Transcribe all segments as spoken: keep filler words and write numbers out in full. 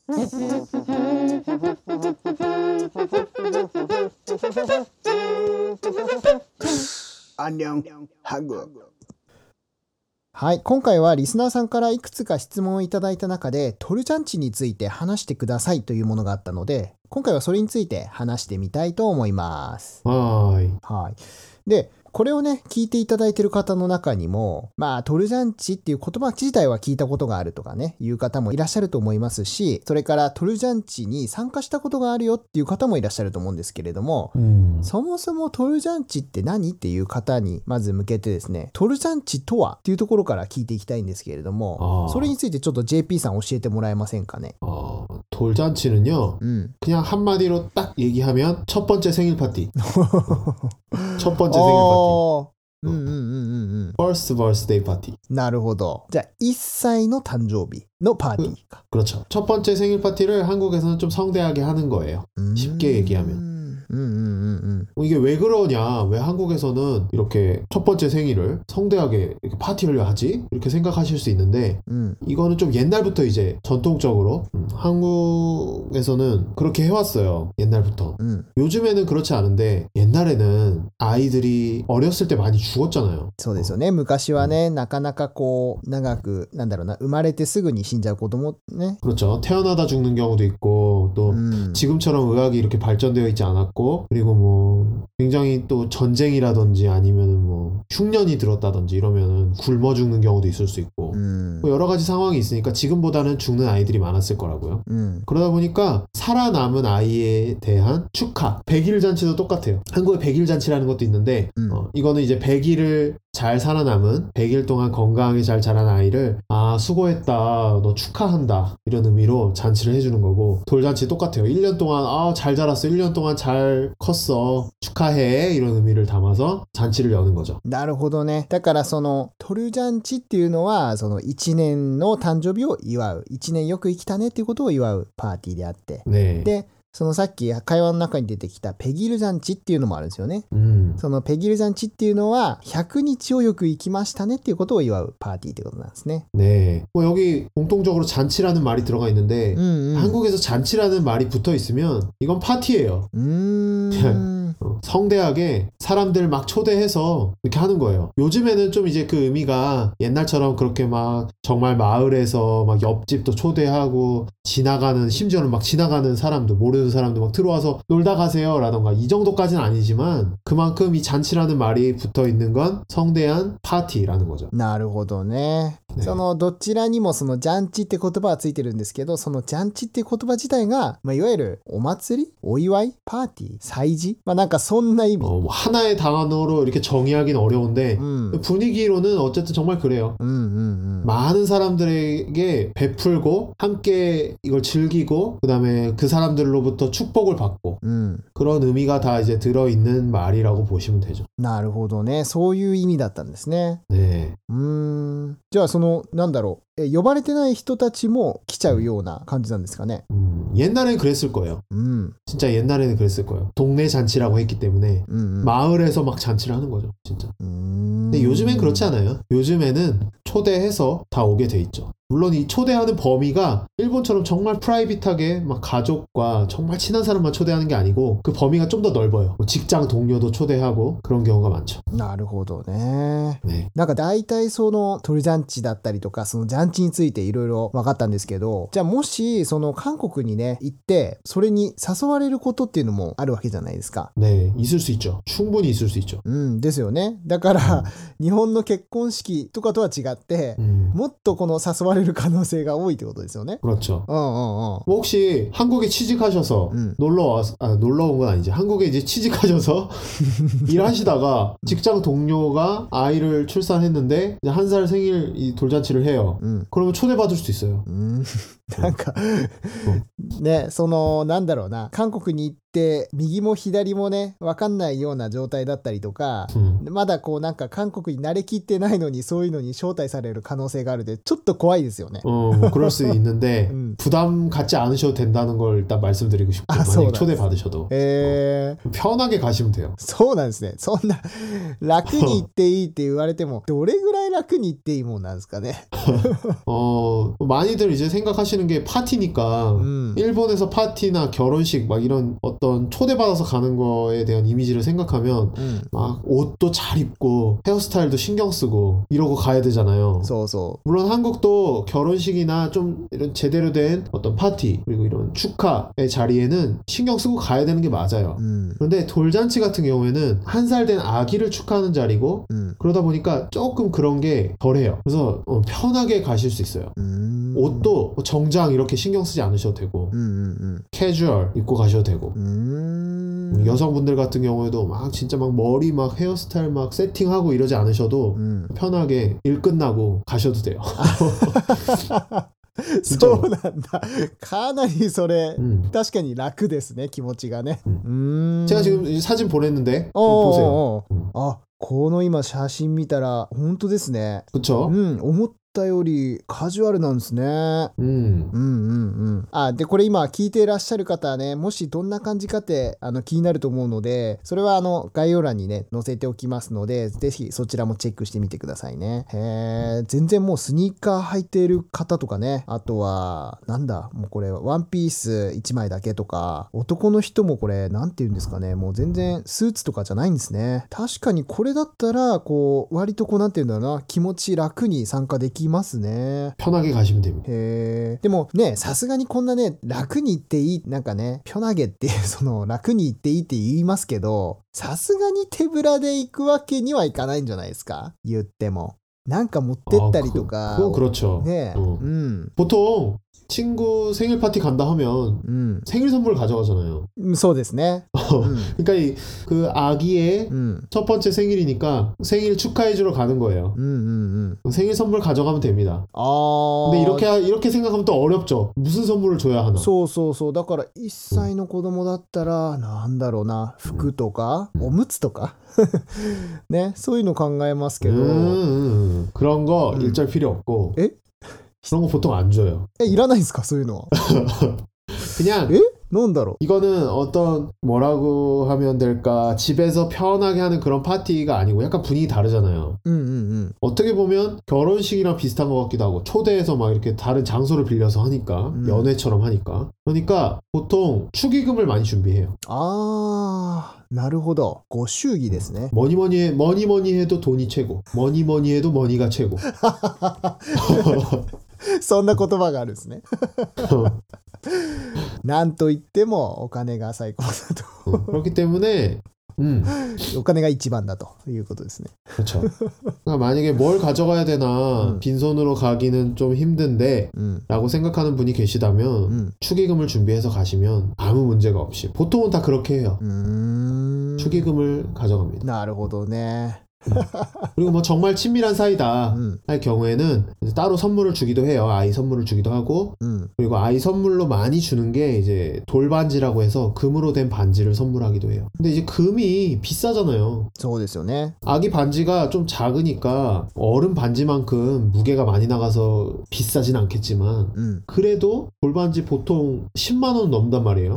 안녕 한국。 はい、今回はリスナーさんからいくつか質問をいただいた中でトルジャンチについて話してくださいというものがあったので、今回はそれについて話してみたいと思います。 はい。 はい。で、これをね、聞いていただいている方の中にも、まあ、トルジャンチっていう言葉自体は聞いたことがあるとかね、いう方もいらっしゃると思いますし、それからトルジャンチに参加したことがあるよっていう方もいらっしゃると思うんですけれども、 うん、 そもそもトルジャンチって何っていう方にまず向けてですね、トルジャンチとはっていうところから聞いていきたいんですけれども、それについてちょっと ジェーピー さん教えてもらえませんかね。 어, 돌잔치는요, 음. 그냥 한마디로 딱 얘기하면 첫 번째 생일 파티. 첫 번째 생일 파티. うんうんうんうんうん。 First birthday party. なるほど。じゃあいっさいの誕生日のパーティーか。 그렇죠. 첫 번째 생일 파티를 한국에서는 좀 성대하게 하는 거예요. 음. 쉽게 얘기하면. 음, 음, 음, 음. 이게 왜 그러냐? 왜 한국에서는 이렇게 첫 번째 생일을 성대하게 이렇게 파티를 하지? 이렇게 생각하실 수 있는데 음. 이거는 좀 옛날부터 이제 전통적으로 음, 한국에서는 그렇게 해왔어요. 옛날부터. 음. 요즘에는 그렇지 않은데 옛날에는 아이들이 어렸을 때 많이 죽었잖아요. そうですよね。昔はね、なかなかこう長くなんだろうな、生まれてすぐに死んじゃう子供ね。 그렇죠. 태어나다 죽는 경우도 있고 또 음. 지금처럼 의학이 이렇게 발전되어 있지 않았고 그리고 뭐 굉장히 또 전쟁이라든지 아니면은 뭐 흉년이 들었다든지 이러면은 굶어 죽는 경우도 있을 수 있고 음. 뭐 여러 가지 상황이 있으니까 지금보다는 죽는 아이들이 많았을 거라고요. 음. 그러다 보니까 살아남은 아이에 대한 축하, 백일 잔치도 똑같아요. 한국에 백일 잔치라는 것도 있는데 음. 어, 이거는 이제 백 일을 잘 살아남은 백 일 동안 건강하게 잘 자란 아이를 아 수고했다 너 축하한다 이런 의미로 잔치를 해주는 거고 돌잔치 똑같아요. 일 년 동안 아 잘 자랐어 일 년 동안 잘 컸어 축하해 이런 의미를 담아서 잔치를 여는 거죠. なるほどね。だからそのトルジャンチっていうのはそのいちねんの誕生日を祝う、いちねんよく生きたねっていうことを祝うパーティーであって、 네. でそのさっき会話の中に出てきたペギルジャンチっていうのもあるんですよね。 음. そのペギルジャンチっていうのはひゃくにちをよく生きましたねっていうことを祝うパーティーってことなんですね。 네. 뭐 여기 공통적으로 잔치라는 말이 들어가 있는데 음, 음. 한국에서 잔치라는 말이 붙어 있으면 이건 파티예요. 음. 어, 성대하게 사람들 막 초대해서 이렇게 하는 거예요. 요즘에는 좀 이제 그 의미가 옛날처럼 그렇게 막 정말 마을에서 막 옆집도 초대하고 지나가는 심지어는 막 지나가는 사람도 모르는 사람도 막 들어와서 놀다 가세요 라던가 이 정도까지는 아니지만 그만큼 이 잔치라는 말이 붙어 있는 건 성대한 파티라는 거죠. なるほどね。そのどちらにもそのジャンチって言葉はついてるんですけど、そのジャンチって言葉自体が、まあ、いわゆるお祭り、お祝い、パーティー、祭事、まあなんかそんな意味。 어, 뭐 하나의 단어로 이렇게 정의하기는 어려운데 음. 분위기로는 어쨌든 정말 그래요. 음, 음, 음. 많은 사람들에게 베풀고 함께 이걸 즐기고 그 다음에 그 사람들로부터 축복을 받고 음. 그런 의미가 다 이제 들어있는 말이라고 보시면 되죠. なるほどね。そういう意味だったんですね。 네. うーん。じゃあそのなんだろう、え呼ばれてない人たちも来ちゃうような感じなんですかね。 음, 옛날엔 그랬을 거예요. 음. 진짜 옛날에는 그랬을 거예요. 동네 잔치라고 했기 때문에 음, 음. 마을에서 막 잔치를 하는 거죠. 진짜. 음. 근데 요즘엔 그렇지 않아요. 요즘에는 초대해서 다 오게 돼 있죠. 물론 이 초대하는 범위가 일본처럼 정말 프라이빗하게 막 가족과 정말 친한 사람만 초대하는 게 아니고 그 범위가 좀 더 넓어요. 뭐 직장 동료도 초대하고 그런 경우가 많죠. なるほどね。 네. なんか大体そのトルジャンチだったりとかそのジャンチについていろいろ分かったんですけど、じゃあもしその韓国にね行ってそれに誘われることっていうのもあるわけじゃないですか。 네, 있을 수 있죠. 충분히 있을 수 있죠. うんですよね。だから、うん、日本の結婚式とかとは違って、 음. もっとこの誘われる可能性が多いってことですよね。 그렇죠. 어, 어, 어. 뭐 혹시 한국에 취직하셔서 음. 놀러 와, 아, 놀러 온 건 아니지. 한국에 이제 취직하셔서 일하시다가 직장 동료가 아이를 출산했는데 한 살 생일 이 돌잔치를 해요. 음. 그러면 초대받을 수도 있어요. 음. なんかね、そのなんだろうな、韓国に行って右も左もね分かんないような状態だったりとか、うん、まだこうなんか韓国に慣れきってないのにそういうのに招待される可能性があるでちょっと怖いですよね。 어, 뭐 그럴 수 있는데 음. 부담 갖지 않으셔도 된다는 걸 일단 말씀드리고 싶고 아, 만약에 초대 받으셔도 에... 어, 편하게 가시면 돼요. そうなんですね。そんな楽に行っていいって言われてもどれぐらい楽に言っていいもんなんですかね。 어, 많이들 이제 생각하시는 게 파티니까 음. 일본에서 파티나 결혼식 막 이런 어떤 초대받아서 가는 거에 대한 이미지를 생각하면 음. 막 옷도 잘 입고 헤어스타일도 신경 쓰고 이러고 가야 되잖아요. そうそ 물론 한국도 결혼식이나 좀 이런 제대로 된 어떤 파티 그리고 이런 축하의 자리에는 신경 쓰고 가야 되는 게 맞아요. う。うん。 그런데 돌잔치 같은 경우에는 한 살 된 아기를 축하하는 자리고 うん。 그러다 보니까 조금 그런 게 덜해요. 그래서 어, 편하게 가실 수 있어요. うーん。 옷도 정장 이렇게 신경 쓰지 않으셔도 되고 うんうん 캐주얼 입고 가셔도 되고 うん。うーん。 여성분들 같은 경우에도 막 진짜 막 머리 막 헤어스타일 막 세팅하고 이러지 않으셔도 うん。 편하게 일 끝나고 가셔도 돼요. そうなんだ。かなりそれ、 음. 確かに楽ですね、気持ちがね。う 음. ーん。 제가 지금 이 사진 보냈는데 おー 보세요. おーおー 음. あ、この今写真見たら本当ですね。 그쵸? うん、思ったよりカジュアルなんですね。 음. うんうんうん。あ、で、これ今聞いていらっしゃる方はね、もしどんな感じかってあの気になると思うので、それはあの概要欄にね、載せておきますので、ぜひそちらもチェックしてみてくださいね。へー、全然もうスニーカー履いている方とかね、あとは、なんだ、もうこれワンピースいちまいだけとか、男の人もこれ、なんて言うんですかね、もう全然スーツとかじゃないんですね。確かにこれだったら、こう、割とこう、なんて言うんだろうな、気持ち楽に参加できますね。 편하게 가시면 됩니다. へー。でもね、さすがにこんなね、楽に行っていい、なんかね、ピョナゲっていう、その、楽に行っていいって言いますけど、さすがに手ぶらで行くわけにはいかないんじゃないですか、言っても。なんか持ってったりとか。 아, 그, 그건 그렇죠. ね、 어. うん。 보통 친구 생일 파티 간다 하면 うん。 생일 선물 가져가잖아요. うんそうですね。うん。 그러니까 이, 그 아기의 うん。 첫 번째 생일이니까 생일 축하해주러 가는 거예요. うんうんうん。 생일 선물 가져가면 됩니다. あー。 근데 이렇게 이렇게 생각하면 또 어렵죠. 무슨 선물을 줘야 하나? そうそうそう。だからいっさいの子供だったら、なんだろうな、服とか、おむつとかね、そういうの考えますけど、 음, 음, 그런 거 음. 일절 필요 없고 에? 그런 거 보통 안 줘요. え、いらないんですか、そういうのは。 그냥 え、なんだろ 이거는 어떤 뭐라고 하면 될까 집에서 편하게 하는 그런 파티가 아니고 약간 분위기 다르잖아요. う。うんうんうん。 어떻게 보면 결혼식이랑 비슷한 것 같기도 하고 초대해서 막 이렇게 다른 장소를 빌려서 하니까 음. 연회처럼 하니까 그러니까 보통 축의금을 많이 준비해요. あー、なるほど。ご祝儀ですね。 뭐니 뭐니 해, 뭐니 뭐니 해도 돈이 최고. 뭐니 뭐니 해도 머니가 최고. そんな言葉があるんですね。なんと言ってもお金が最高だ 음, 그렇기 때문에 음, と。お金が一番だということですね。 그렇죠. 그러니까 만약에 뭘 가져가야 되나 음. 빈손으로 가기는 좀 힘든데 うん。 라고 생각하는 분이 계시다면 うん。 축의금을 준비해서 가시면 아무 문제가 없이 보통은 다 그렇게 해요. うーん。 축의금을 가져갑니다. なるほどね。 그리고 뭐 정말 친밀한 사이다 うん。 할 경우에는 이제 따로 선물을 주기도 해요. 아이 선물을 주기도 하고 うん。 그리고 아이 선물로 많이 주는 게 이제 돌반지라고 해서 금으로 된 반지를 선물하기도 해요. 근데 이제 금이 비싸잖아요. そうですよね。 아기 반지가 좀 작으니까 어른 반지만큼 무게가 많이 나가서 비싸진 않겠지만 うん。 그래도 돌반지 보통 십만 원 넘는단 말이에요. うん。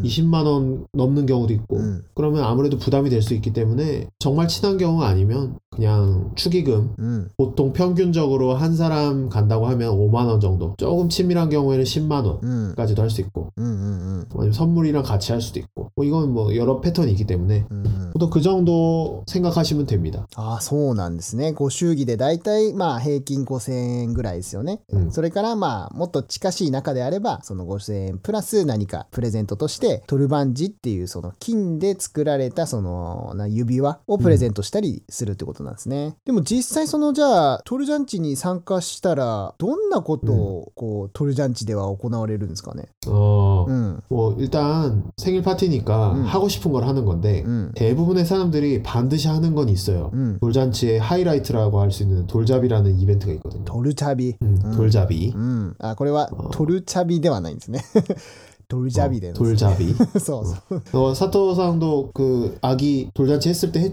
이십만 원 넘는 경우도 있고 うん。 그러면 아무래도 부담이 될 수 있기 때문에 정말 친한 경우가 아니면 그냥 축의금 うん。 보통 평균적으로 한 사람 간다고 하면 오만 원 정도 조금 친밀한 경우에는 십만 うん。 원까지도 할 수 있고 うんうんうん。 아니면 선물이랑 같이 할 수도 있고 뭐 이건 뭐 여러 패턴이 있기 때문에 うんうん。 보통 그 정도 생각하시면 됩니다. ああ、そうなんですね。ご祝儀でだいたいまあ平均ごせんえんぐらいですよね。 うんそれからまあもっと近しい中であればそのごせんえんプラス何かプレゼントとしてトルバンジっていうその金で作られたそのな指輪をプレゼントしたりするってことなんですね。でも実際そのじゃあトルジャンチに参加したらどんなことをこうトルジャンチでは行われるんですかね。 어, うん。 뭐 일단 생일 파티니까 음. 하고 싶은 걸 하는 건데 うん。 대부분의 사람들이 반드시 하는 건 있어요. うん。 돌잔치의 하이라이트라고 할 수 있는 돌잡이라는 이벤트가 있거든요. トルチャビ。 음, 음. 돌잡이. うん。あ、これはあートルチャビではないんですね。トルジャビで 어, なんですね。 돌잡이. そうそう。 어, 사토상도 그 아기 돌잔치 했을 때 했죠?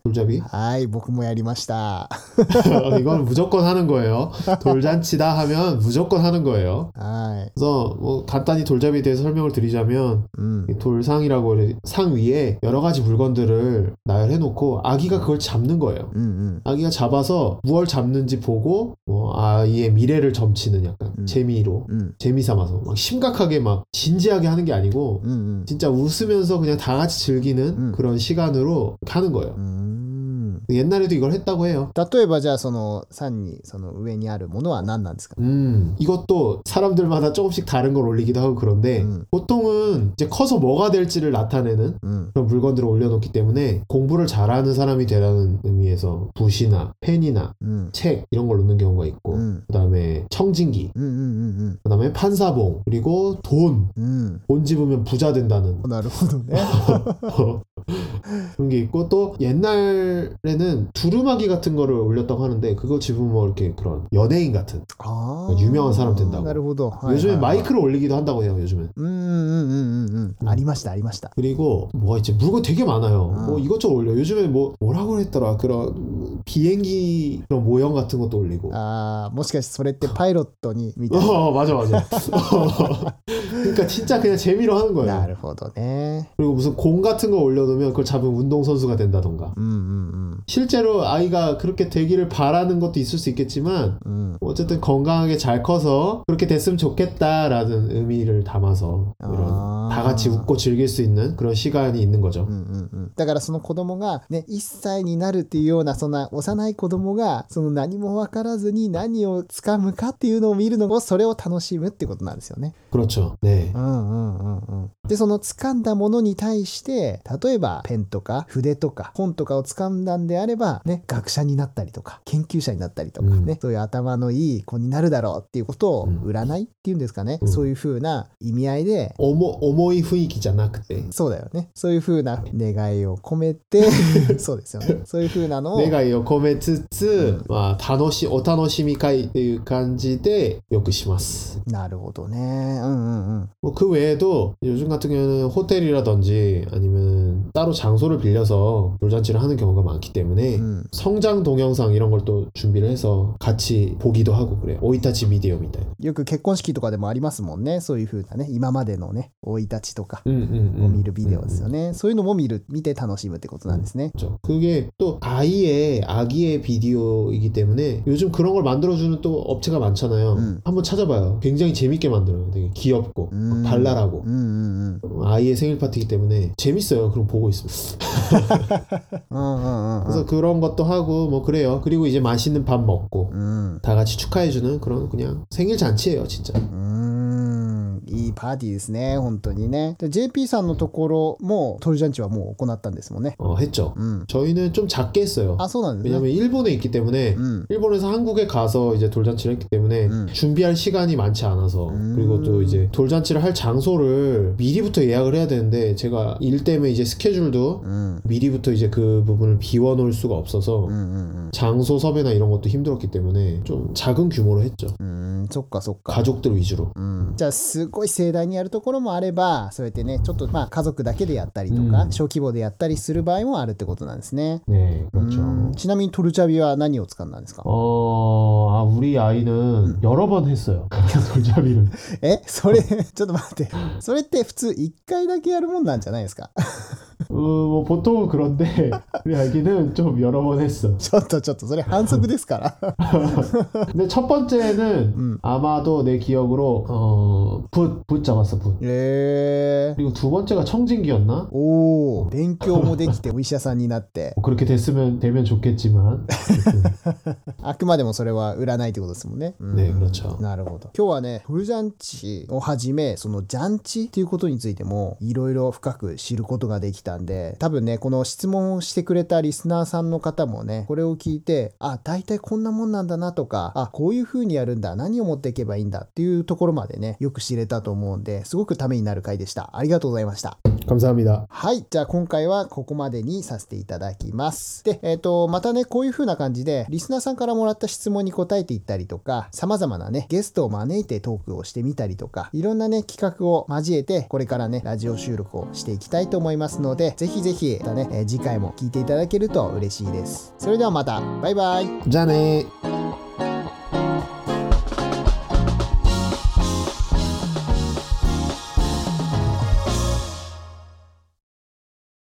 돌잡이? はい、僕もやりました。 이건 무조건 하는 거예요. 돌잔치다 하면 무조건 하는 거예요. はい。 그래서 뭐 간단히 돌잡이에 대해서 설명을 드리자면 うん。 이 돌상이라고 해- 상 위에 여러 가지 물건들을 나열해 놓고 아기가 그걸 잡는 거예요. うんうん。 아기가 잡아서 무얼 잡는지 보고 뭐 아이의 미래를 점치는 약간 음. 재미로 うん。 재미 삼아서 막 심각하게 막 진지하게 하는 게 아니고 うんうん。 진짜 웃으면서 그냥 다 같이 즐기는 음. 그런 시간으로 하는 거예요. うーん。 옛날에도 이걸 했다고 해요. 例えばじゃあそのさんにその上にあるものは何なんですか？ 음, 이것도 사람들마다 조금씩 다른 걸 올리기도 하고 그런데 음. 보통은 이제 커서 뭐가 될지를 나타내는 うん。 그런 물건들을 올려놓기 때문에 공부를 잘하는 사람이 되라는 의미에서 붓이나 펜이나 うん。 책 이런 걸 놓는 경우가 있고 うん。 그 다음에 청진기 うんうんうん 그 다음에 판사봉 그리고 돈, うん。うん。 돈 집으면 부자 된다는 なるほどね。 그런 게 있고 또 옛날에는 두루마기 같은 거를 올렸다고 하는데 그거 집으면 뭐 이렇게 그런 연예인 같은 ああ。 유명한 사람 된다고. なるほど。はいはいはい 요즘에 마이크를 올리기도 한다고 해요. 요즘엔. うんうんうんうんうん。ありましたありました。 그리고 뭐가 있지? 물건 되게 많아요. 아. 뭐 이것저것 올려. 요즘에 뭐 뭐라고 했더라. 그런 비행기 그런 모형 같은 것도 올리고. ああ、もしかしてそれってパイロットにみたいな。 어 맞아 맞아. 그러니까 진짜 그냥 재미로 하는 な 거예요. るほどね。 그리고 무슨 공 같은 거 올려놓으면 그걸 잡으면 운동선수가 된다던가. うんうん。 실제로 아이가 그렇게 되기를 바라는 것도 있을 수 있겠지만 うん。 어쨌든 건강하게 잘 커서 그렇게 됐으면 좋겠다라는 의미를 담아서 이런 아. 다 같이 웃고 즐길 수 있는 그런 시간이 있는 거죠. うんうんうん。だからその子供がね、いっさいになるっていうようなそんな幼い子供がその何も分からずに何を掴むかっていうのを見るのをそれを楽しむってことなんですよね。 그렇죠. 네. うんうんうんうん。で、その掴んだものに対して、例えばペンとか筆とか本とかを掴んだんであれば、ね、学者になったりとか、研究者になったりとかね、 うんそういう頭のいい子になるだろうっていうことをうん占いっていうんですかね、 うんそういう風な意味合いで、 重, 重い雰囲気じゃなくてそうだよね。そういう風な願いを込めて、そうですよね。そういう風なのを、 願いを込めつつ、 うんまあ、楽しお楽しみ会っていう感じでよくします。 なるほどね。うんうんうん。 뭐 그 외에도 요즘 같은 경우는 호텔이라든지 아니면 따로 장소를 빌려서 돌잔치를 하는 경우가 많기 때문에 うん 성장 동영상 이런 걸 또 준비를 해서 같이 보기도 하고 그래요. 오이타치 비디오 みたいな。 よく結婚式とかでもありますもんね。そういう風なね、今までのね、生い立ちとか 음, 음, 음. を見るビデオですよね。そういうのも見る、見て楽しむってことなんですね。 그렇죠. 그게 또 아이의 아기의 비디오이기 때문에 요즘 그런 걸 만들어주는 또 업체가 많잖아요. 음. 한번 찾아봐요. 굉장히 재밌게 만들어요. 되게 귀엽고 음. 막 발랄하고 うんうんうん。 아이의 생일 파티이기 때문에 재밌어요. 그럼 보고 있으면. うんうんうんう 그래서 ん。 그런 것도 하고 뭐 그래요. 그리고 이제 맛있는 밥 먹고 うん。 다 같이 축하해주는 그런 그냥 생일 잔치예요, 진짜. うーん、いいパーティーですね、本当にね。で、ジェイピー さんのところも、トルジャンチはもう行ったんですもんね。 어, 했죠. うん。 저희는 좀 작게 했어요. あ、そうなんですね。 왜냐면 일본에 있기 때문에 うん。 일본에서 한국에 가서 이제 돌잔치를 했기 때문에 음. 준비할 시간이 많지 않아서 음. 그리고 또 이제 돌잔치를 할 장소를 미리부터 예약을 해야 되는데 제가 일 때문에 이제 스케줄도 うん。 미리부터 이제 그 부분을 비워놓을 수가 없어서 うんうん 장소 섭외나 이런 것도 힘들었기 때문에 좀 작은 규모로 했죠. うん。うん、そっかそっか。 가족들 위주로. うん、じゃあすごい盛大にやるところもあればそうやってねちょっとまあ家族だけでやったりとか、 うん小規模でやったりする場合もあるってことなんですね。 네, う 그렇죠. ん、ちなみにトルチャビは何を使ったんですか？ 어, 아, 우리 아이는 여러 번 했어요. 돌잡이를. えそれちょっと待ってそれって普通いっかいだけやるもんなんじゃないですか？ 어, 뭐 보통은 그런데 우리 아기는 좀 여러 번 했어. ちょっとちょっとそれ反則ですから。 근데 첫 번째는 음. 아마도 내 기억으로 어, 붓, 붓 잡았어, 붓. へえ。 그리고 두 번째가 청진기였나? おお、勉強もできてお医者さんになって 뭐 그렇게 됐으면 되면 좋겠지만. あくまでもそれは占いってことですもんね。うん 네, 그렇죠. なるほど。今日はね、トルジャンチをはじめ、そのジャンチっていうことについても、いろいろ深く知ることができたんで、多分ね、この質問をしてくれたリスナーさんの方もね、これを聞いて、あ、大体こんなもんなんだなとか、あ、こういう風にやるんだ、何を持っていけばいいんだっていうところまでね、よく知れたと思うんで、すごくためになる回でした。ありがとうございました。 감사합니다. はい。じゃあ今回はここまでにさせていただきます。で、えっと、またね、こういう風な感じで、リスナーさんからもらった質問に答えていったりとか、様々なね、ゲストを招いてトークをしてみたりとか、いろんなね、企画を交えて、これからね、ラジオ収録をしていきたいと思いますので、ぜひぜひ、またね、えー次回も聞いていただけると嬉しいです。それではまた、バイバイ。 じゃあねー。